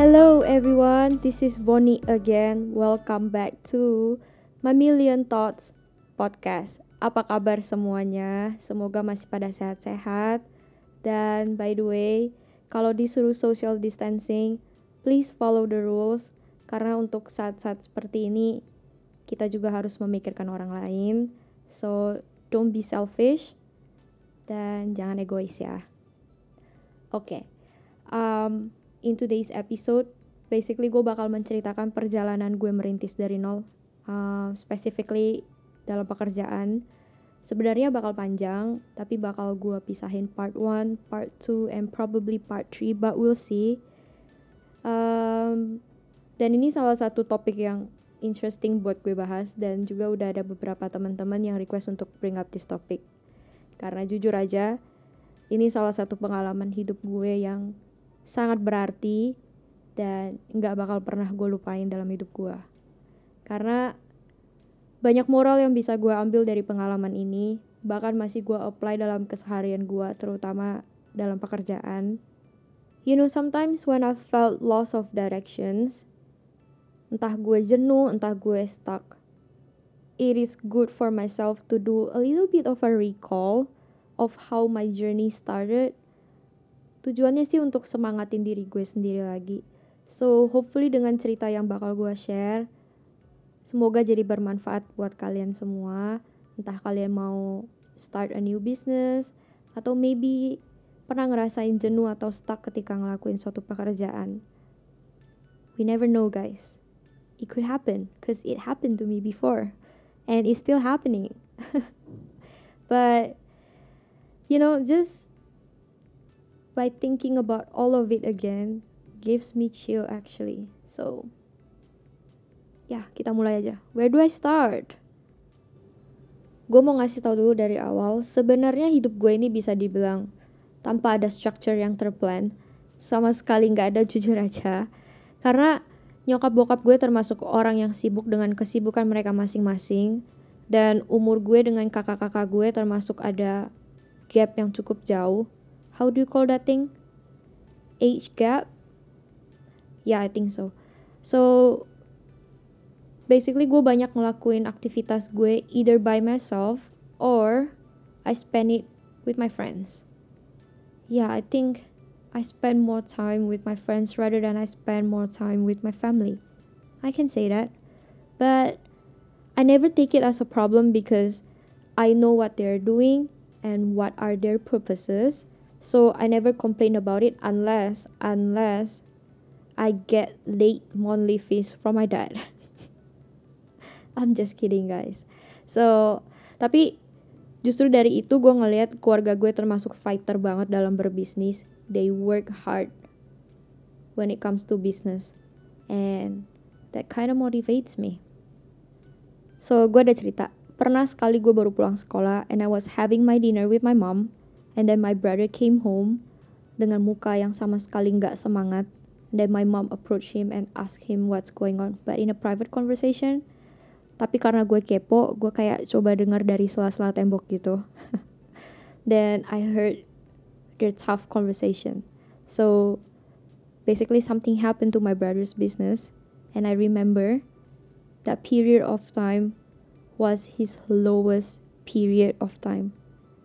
Hello everyone, this is Bonnie again. Welcome back to My Million Thoughts podcast. Apa kabar semuanya? Semoga masih pada sehat-sehat. Dan by the way, kalau disuruh social distancing, please follow the rules. Karena untuk saat-saat seperti ini, kita juga harus memikirkan orang lain. So, don't be selfish. Dan jangan egois ya. Oke. In today's episode, basically gue bakal menceritakan perjalanan gue merintis dari nol, specifically dalam pekerjaan. Sebenarnya bakal panjang, tapi bakal gue pisahin part 1, part 2, and probably part 3, but we'll see. Dan ini salah satu topik yang interesting buat gue bahas, dan juga udah ada beberapa teman-teman yang request untuk bring up this topic. Karena jujur aja, ini salah satu pengalaman hidup gue yang sangat berarti dan gak bakal pernah gue lupain dalam hidup gue. Karena banyak moral yang bisa gue ambil dari pengalaman ini, bahkan masih gue apply dalam keseharian gue, terutama dalam pekerjaan. You know, sometimes when I felt loss of directions, entah gue jenuh, entah gue stuck, it is good for myself to do a little bit of a recall of how my journey started. Tujuannya sih untuk semangatin diri gue sendiri lagi. So, hopefully dengan cerita yang bakal gue share, semoga jadi bermanfaat buat kalian semua. Entah kalian mau start a new business, atau maybe pernah ngerasain jenuh atau stuck ketika ngelakuin suatu pekerjaan. We never know, guys. It could happen, because it happened to me before. And it's still happening. But, you know, just by thinking about all of it again gives me chill actually. So, ya kita mulai aja. Where do I start? Gue mau ngasih tahu dulu dari awal, sebenarnya hidup gue ini bisa dibilang tanpa ada structure yang terplan. Sama sekali gak ada, jujur aja. Karena nyokap bokap gue termasuk orang yang sibuk dengan kesibukan mereka masing-masing. Dan umur gue dengan kakak-kakak gue termasuk ada gap yang cukup jauh. How do you call that thing? Age gap? Yeah, I think so. So, basically gue banyak ngelakuin aktivitas gue either by myself or I spend it with my friends. Yeah, I think I spend more time with my friends rather than I spend more time with my family. I can say that. But I never take it as a problem because I know what they're doing and what are their purposes. So I never complain about it unless I get late monthly fees from my dad. I'm just kidding, guys. So, tapi justru dari itu gue ngelihat keluarga gue termasuk fighter banget dalam berbisnis. They work hard when it comes to business. And that kind of motivates me. So, gue ada cerita. Pernah sekali gue baru pulang sekolah and I was having my dinner with my mom. And then my brother came home dengan muka yang sama sekali gak semangat. And then my mom approached him and asked him what's going on. But in a private conversation. Tapi karena gue kepo, gue kayak coba dengar dari sela-sela tembok gitu. Then I heard their tough conversation. So basically something happened to my brother's business. And I remember that period of time was his lowest period of time.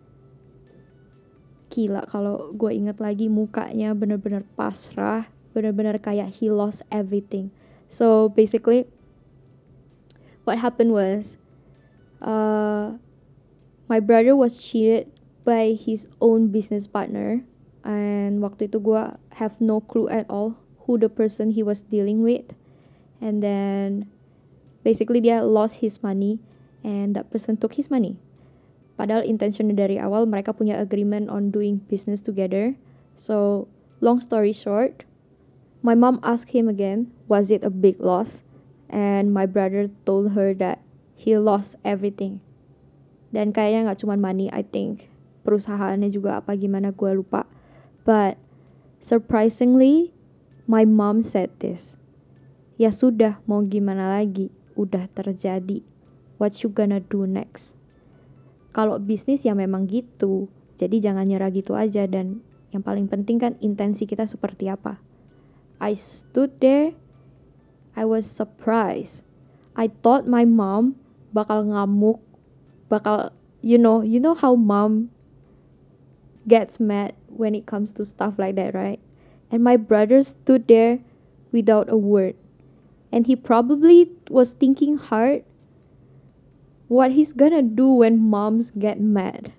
Gila, kalau gue inget lagi mukanya bener-bener pasrah, bener-bener kayak he lost everything. So basically what happened was my brother was cheated by his own business partner. And waktu itu gue have no clue at all who the person he was dealing with. And then basically dia lost his money and that person took his money. Padahal intentionnya dari awal mereka punya agreement on doing business together. So, long story short, my mom asked him again, was it a big loss? And my brother told her that he lost everything. Dan kayaknya gak cuma money, I think. Perusahaannya juga apa gimana gue lupa. But, surprisingly, my mom said this. Ya sudah, mau gimana lagi? Udah terjadi. What you gonna do next? Kalau bisnis ya memang gitu, jadi jangan nyerah gitu aja. Dan yang paling penting kan intensi kita seperti apa. I stood there, I was surprised. I thought my mom bakal ngamuk, bakal, you know how mom gets mad when it comes to stuff like that, right? And my brother stood there without a word. And he probably was thinking hard what he's gonna do when moms get mad.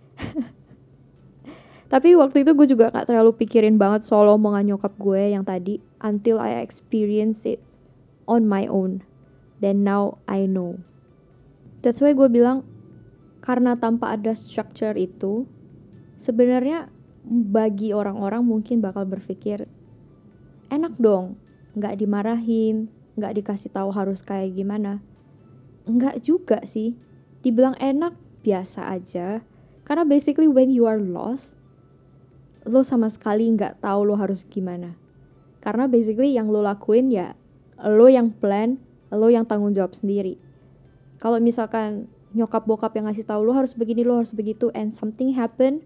Tapi waktu itu gue juga gak terlalu pikirin banget soal omongan nyokap gue yang tadi, until I experience it on my own. Then now I know. That's why gue bilang, karena tanpa ada structure itu, sebenarnya bagi orang-orang mungkin bakal berpikir, enak dong, gak dimarahin, gak dikasih tahu harus kayak gimana. Enggak juga sih. Dibilang enak, biasa aja. Karena basically when you are lost, lo sama sekali gak tahu lo harus gimana. Karena basically yang lo lakuin ya, lo yang plan, lo yang tanggung jawab sendiri. Kalau misalkan nyokap bokap yang ngasih tahu lo harus begini, lo harus begitu, and something happen,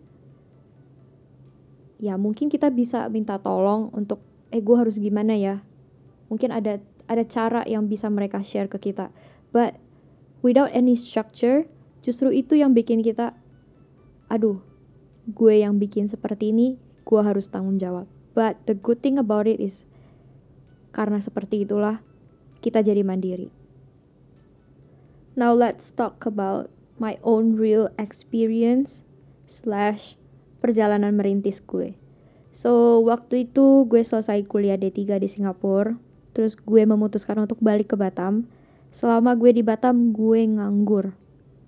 ya mungkin kita bisa minta tolong untuk, gue harus gimana ya. Mungkin ada cara yang bisa mereka share ke kita. But without any structure, justru itu yang bikin kita, aduh, gue yang bikin seperti ini, gue harus tanggung jawab. But the good thing about it is, karena seperti itulah kita jadi mandiri. Now let's talk about my own real experience / perjalanan merintis gue. So waktu itu gue selesai kuliah D3 di Singapura, terus gue memutuskan untuk balik ke Batam. Selama gue di Batam, gue nganggur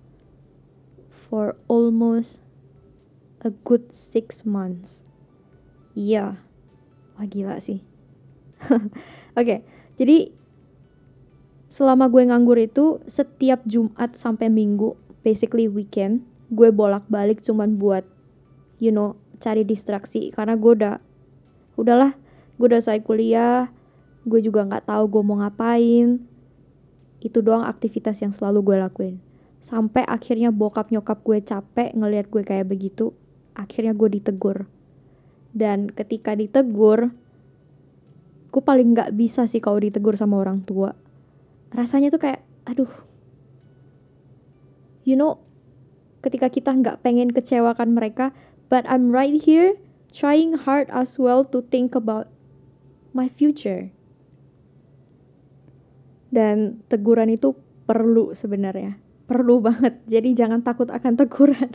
for almost a good 6 months. Iya, wah gila sih. Oke, jadi selama gue nganggur itu, setiap Jumat sampai Minggu, basically weekend, gue bolak-balik cuman buat, cari distraksi. Karena gue udahlah, gue udah selesai kuliah, gue juga gak tahu gue mau ngapain. Itu doang aktivitas yang selalu gue lakuin. Sampai akhirnya bokap nyokap gue capek ngelihat gue kayak begitu. Akhirnya gue ditegur. Dan ketika ditegur, gue paling gak bisa sih kalau ditegur sama orang tua. Rasanya tuh kayak, aduh. Ketika kita gak pengen kecewakan mereka, but I'm right here trying hard as well to think about my future. Dan teguran itu perlu sebenarnya. Perlu banget. Jadi jangan takut akan teguran.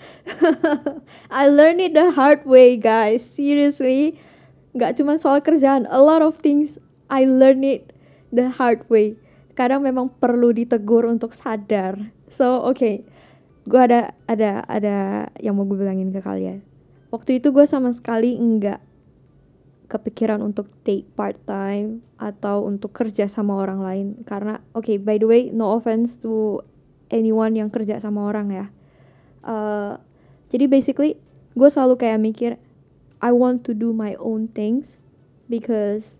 I learned it the hard way, guys. Seriously. Gak cuma soal kerjaan. A lot of things I learned it the hard way. Kadang memang perlu ditegur untuk sadar. So, okay. Gue ada yang mau gue bilangin ke kalian. Waktu itu gue sama sekali enggak kepikiran untuk take part time atau untuk kerja sama orang lain. Karena, okay, by the way, no offense to anyone yang kerja sama orang ya. Jadi basically, gue selalu kayak mikir, I want to do my own things because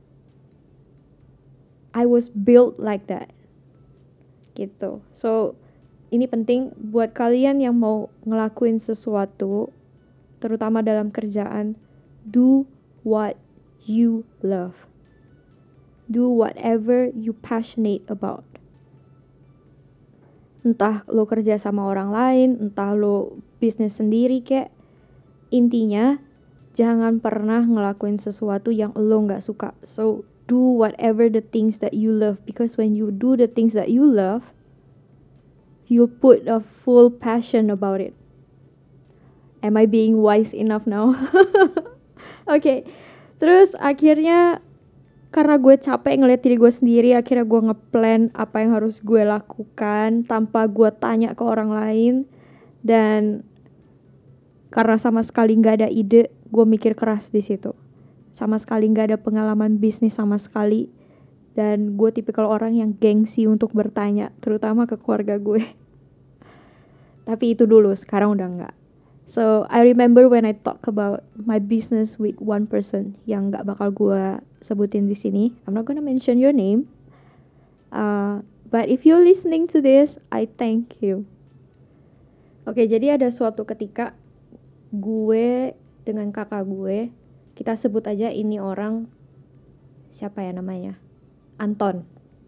I was built like that. Gitu. So, ini penting buat kalian yang mau ngelakuin sesuatu, terutama dalam kerjaan, do what you love. Do whatever you passionate about. Entah lo kerja sama orang lain, entah lo bisnis sendiri kek. Intinya, jangan pernah ngelakuin sesuatu yang lo gak suka. So, do whatever the things that you love. Because when you do the things that you love, you'll put a full passion about it. Am I being wise enough now? Okay. Terus akhirnya karena gue capek ngeliat diri gue sendiri, akhirnya gue ngeplan apa yang harus gue lakukan tanpa gue tanya ke orang lain. Dan karena sama sekali gak ada ide, gue mikir keras di situ. Sama sekali gak ada pengalaman bisnis sama sekali. Dan gue tipikal orang yang gengsi untuk bertanya, terutama ke keluarga gue. Tapi itu dulu, sekarang udah enggak. So, I remember when I talk about my business with one person yang gak bakal gue sebutin di sini. I'm not gonna mention your name. But if you're listening to this, I thank you. Oke, jadi ada suatu ketika gue dengan kakak gue, kita sebut aja ini orang siapa ya namanya, Anton.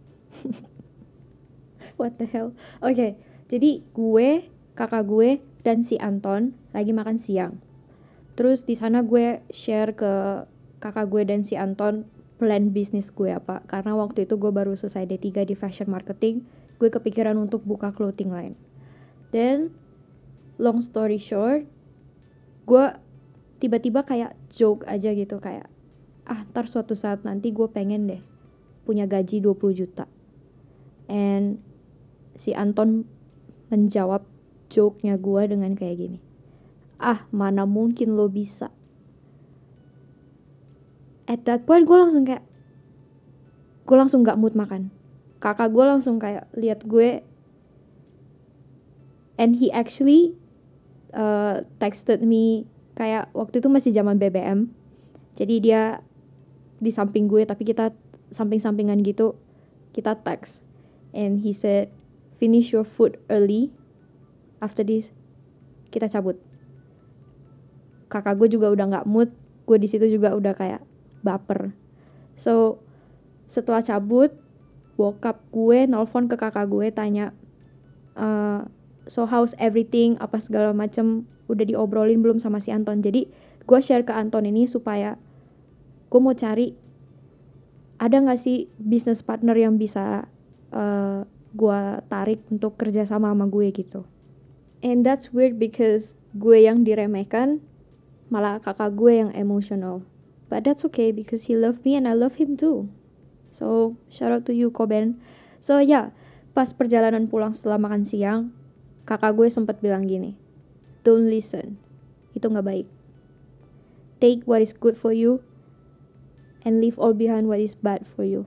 What the hell. Oke, jadi gue, kakak gue, dan si Anton lagi makan siang. Terus di sana gue share ke kakak gue dan si Anton plan bisnis gue apa. Karena waktu itu gue baru selesai D3 di fashion marketing, gue kepikiran untuk buka clothing line. Dan long story short, gue tiba-tiba kayak joke aja gitu, kayak ntar suatu saat nanti gue pengen deh punya gaji 20 juta. And si Anton menjawab joke-nya gue dengan kayak gini, mana mungkin lo bisa. At that point gue langsung gak mood makan. Kakak gue langsung kayak lihat gue, and he actually texted me, kayak waktu itu masih zaman BBM, jadi dia di samping gue tapi kita samping-sampingan gitu, kita text, and he said, finish your food early, after this kita cabut. Kakak gue juga udah gak mood, gue di situ juga udah kayak baper. So setelah cabut, bokap gue nelfon ke kakak gue tanya, so how's everything, apa segala macem, udah diobrolin belum sama si Anton. Jadi gue share ke Anton ini supaya gue mau cari ada gak sih business partner yang bisa gue tarik untuk kerja sama gue gitu. And that's weird because gue yang diremehkan, malah kakak gue yang emotional. But that's okay because he loved me and I love him too. So shout out to you Koben. So yeah, pas perjalanan pulang setelah makan siang, kakak gue sempat bilang gini, don't listen, itu gak baik. Take what is good for you and leave all behind what is bad for you.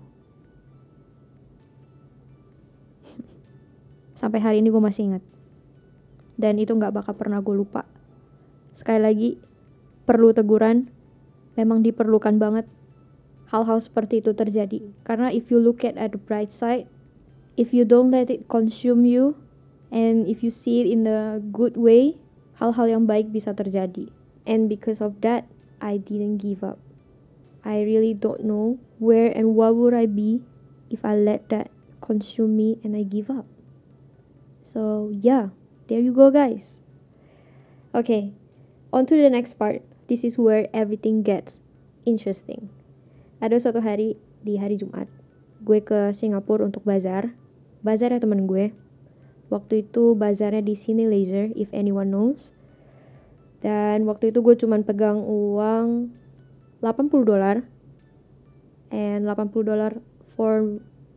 Sampai hari ini gue masih ingat. Dan itu gak bakal pernah gue lupa. Sekali lagi, perlu teguran, memang diperlukan banget hal-hal seperti itu terjadi. Karena if you look at the bright side, if you don't let it consume you, and if you see it in the good way, hal-hal yang baik bisa terjadi. And because of that, I didn't give up. I really don't know where and what would I be if I let that consume me and I give up. So yeah, there you go guys. Okay, on to the next part. This is where everything gets interesting. Ada suatu hari, di hari Jumat, gue ke Singapura untuk bazar ya temen gue. Waktu itu bazarnya di Cine Leisure, if anyone knows. Dan waktu itu gue cuman pegang uang $80. And $80 for,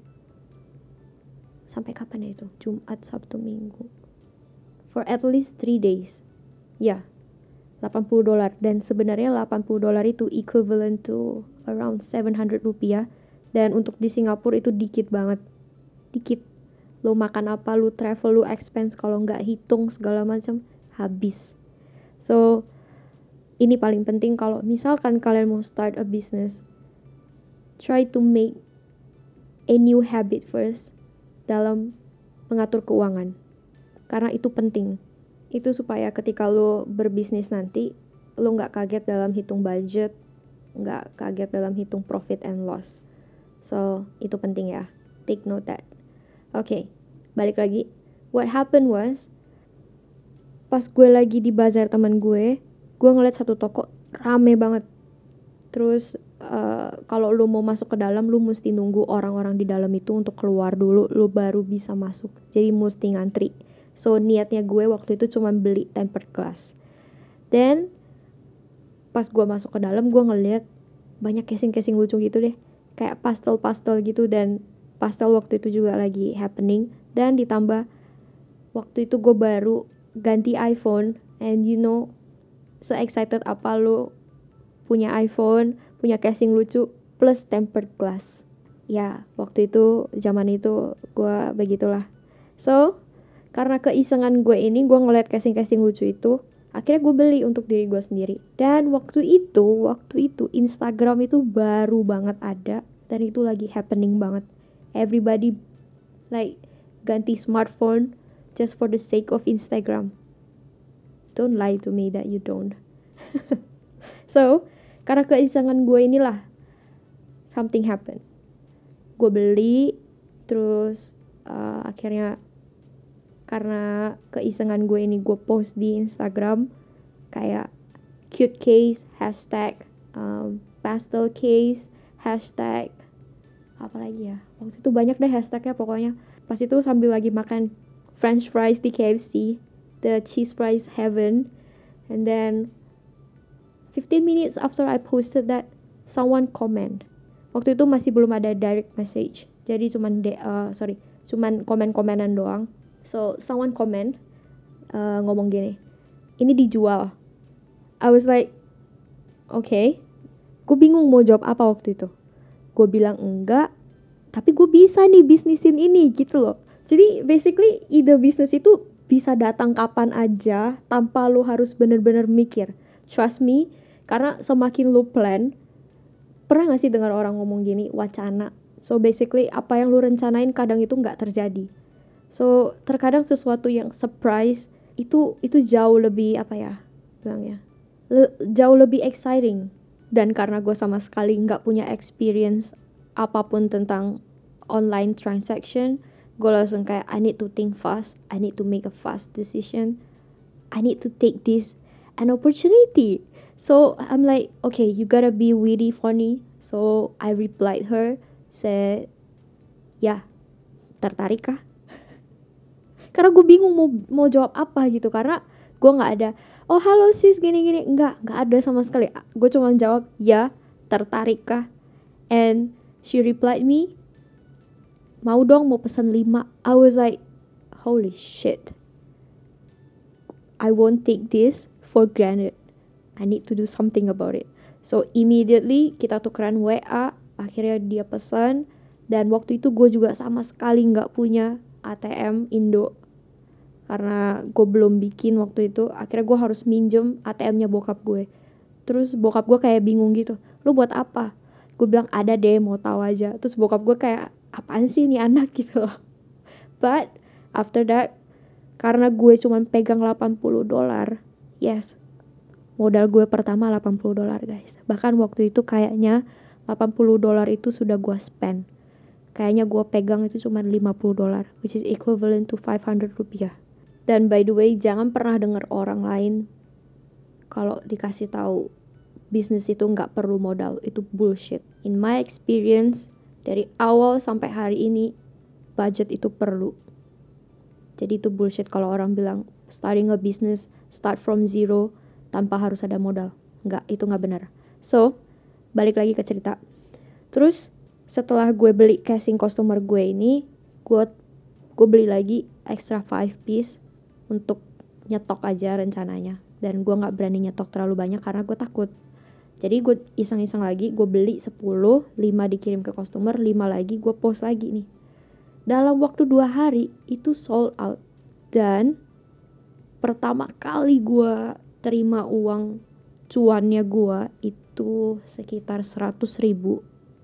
sampai kapan ya itu? Jumat, Sabtu, Minggu. For at least 3 days. Ya, $80. Dan sebenarnya $80 itu equivalent to around 700 rupiah. Dan untuk di Singapura itu dikit banget. Dikit. Lo makan apa, lo travel, lo expense, kalau nggak hitung segala macam, habis. So, ini paling penting kalau misalkan kalian mau start a business, try to make a new habit first dalam mengatur keuangan. Karena itu penting. Itu supaya ketika lo berbisnis nanti, lo gak kaget dalam hitung budget, gak kaget dalam hitung profit and loss. So, itu penting ya. Take note that. Okay, balik lagi. What happened was, pas gue lagi di bazar teman gue ngeliat satu toko rame banget. Terus kalau lu mau masuk ke dalam, lu mesti nunggu orang-orang di dalam itu untuk keluar dulu, lu baru bisa masuk. Jadi mesti ngantri. So niatnya gue waktu itu cuma beli tempered glass. Dan pas gue masuk ke dalam, gue ngeliat banyak casing-casing lucu gitu deh, kayak pastel-pastel gitu. Dan pastel waktu itu juga lagi happening. Dan ditambah waktu itu gue baru ganti iPhone, and you know, se-excited apa lu punya iPhone, punya casing lucu, plus tempered glass. Ya, waktu itu, zaman itu, gue begitulah. So, karena keisengan gue ini, gue ngeliat casing-casing lucu itu, akhirnya gue beli untuk diri gue sendiri. Dan waktu itu, Instagram itu baru banget ada, dan itu lagi happening banget. Everybody, like, ganti smartphone, just for the sake of Instagram. Don't lie to me that you don't. So, karena keisengan gue inilah, something happen. Gue beli, terus akhirnya karena keisengan gue ini gue post di Instagram kayak cute case, hashtag pastel case, hashtag apa lagi ya, waktu itu banyak deh hashtagnya pokoknya. Pas itu sambil lagi makan french fries di KFC, the cheese fries heaven, and then 15 minutes after I posted that, someone comment. Waktu itu masih belum ada direct message, jadi cuman komen-komenan doang. So someone comment ngomong gini, ini dijual. I was like, okay. Gue bingung mau jawab apa waktu itu. Gue bilang enggak, tapi gue bisa nih bisnisin ini gitu loh. Jadi basically ide bisnis itu bisa datang kapan aja tanpa lo harus bener-bener mikir. Trust me, karena semakin lo plan, pernah gak sih dengar orang ngomong gini, wacana. So basically apa yang lo rencanain kadang itu gak terjadi. So terkadang sesuatu yang surprise itu jauh lebih apa ya bilangnya, jauh lebih exciting. Dan karena gue sama sekali gak punya experience apapun tentang online transaction, gue langsung kayak I need to think fast, I need to make a fast decision, I need to take this an opportunity. So I'm like, okay, you gotta be witty funny. So I replied her, said, ya, tertarik kah? Karena gue bingung mau jawab apa gitu, karena gue nggak ada oh halo sis gini-gini, nggak ada sama sekali. Gue cuma jawab ya, tertarik kah? And she replied me, mau dong, mau pesan 5. I was like, holy shit, I won't take this for granted, I need to do something about it. So immediately kita tukeran WA, akhirnya dia pesan. Dan waktu itu gue juga sama sekali nggak punya ATM Indo, karena gue belum bikin waktu itu. Akhirnya gue harus minjem ATM-nya bokap gue. Terus bokap gue kayak bingung gitu, lu buat apa? Gue bilang ada deh, mau tahu aja. Terus bokap gue kayak apaan sih ini anak gitu loh. But after that, karena gue cuma pegang $80, yes, modal gue pertama $80 guys. Bahkan waktu itu kayaknya $80 itu sudah gue spend. Kayaknya gue pegang itu cuma $50, which is equivalent to 500 rupiah. Dan by the way, jangan pernah dengar orang lain kalau dikasih tahu bisnis itu nggak perlu modal. Itu bullshit. In my experience, dari awal sampai hari ini, budget itu perlu. Jadi itu bullshit kalau orang bilang starting a business, start from zero, tanpa harus ada modal. Nggak, itu nggak benar. So, balik lagi ke cerita. Terus, setelah gue beli casing customer gue ini, gue beli lagi extra 5 piece untuk nyetok aja rencananya. Dan gue gak berani nyetok terlalu banyak karena gue takut. Jadi gue iseng-iseng lagi, gue beli 10, 5 dikirim ke customer, 5 lagi gue post lagi nih. Dalam waktu 2 hari itu sold out. Dan pertama kali gue terima uang cuannya gue itu sekitar 100 ribu.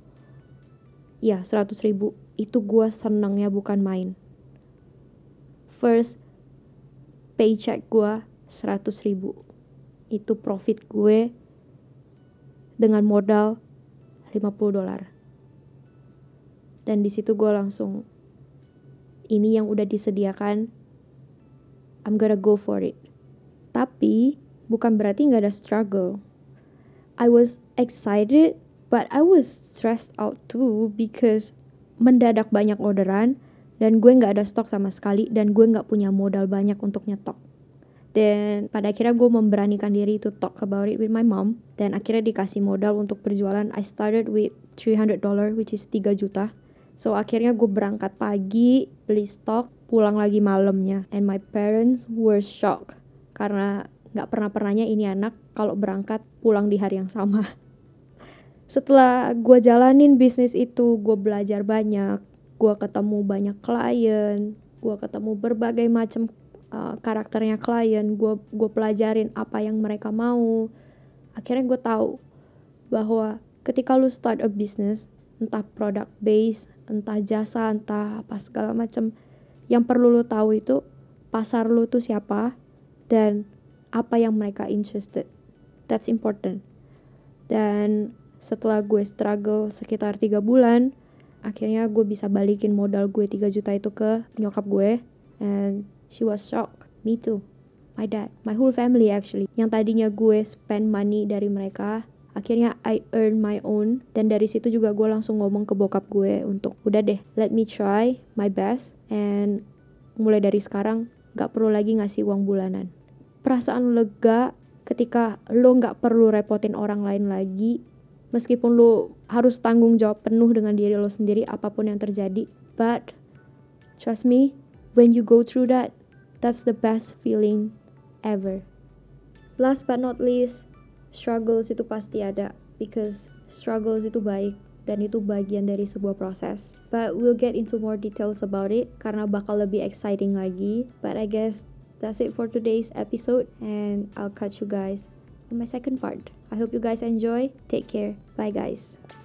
Ya 100 ribu. Itu gue senangnya bukan main. First paycheck gue 100 ribu. Itu profit gue dengan modal $50. Dan di situ gue langsung, ini yang udah disediakan, I'm gonna go for it. Tapi bukan berarti gak ada struggle. I was excited, but I was stressed out too, because mendadak banyak orderan, dan gue gak ada stok sama sekali, dan gue gak punya modal banyak untuk nyetok. Dan pada akhirnya gue memberanikan diri to talk about it with my mom. Dan akhirnya dikasih modal untuk berjualan. I started with $300, which is 3 juta. So akhirnya gue berangkat pagi, beli stok, pulang lagi malamnya. And my parents were shocked, karena gak pernah-pernahnya ini anak kalau berangkat pulang di hari yang sama. Setelah gue jalanin bisnis itu, gue belajar banyak. Gue ketemu banyak klien, gue ketemu berbagai macam karakternya klien. Gue pelajarin apa yang mereka mau. Akhirnya gue tahu bahwa ketika lu start a business, entah product base, entah jasa, entah apa segala macam, yang perlu lu tahu itu pasar lu tuh siapa dan apa yang mereka interested. That's important. Dan setelah gue struggle sekitar 3 bulan, akhirnya gue bisa balikin modal gue 3 juta itu ke nyokap gue. And she was shocked. Me too. My dad. My whole family actually. Yang tadinya gue spend money dari mereka, akhirnya I earn my own. Dan dari situ juga gue langsung ngomong ke bokap gue untuk udah deh, let me try my best. And mulai dari sekarang gak perlu lagi ngasih uang bulanan. Perasaan lega ketika lo gak perlu repotin orang lain lagi. Meskipun lo harus tanggung jawab penuh dengan diri lo sendiri apapun yang terjadi. But trust me, when you go through that, that's the best feeling ever. Last but not least, struggles itu pasti ada. Because struggles itu baik dan itu bagian dari sebuah proses. But we'll get into more details about it karena bakal lebih exciting lagi. But I guess that's it for today's episode and I'll catch you guys in my second part. I hope you guys enjoy. Take care. Bye guys.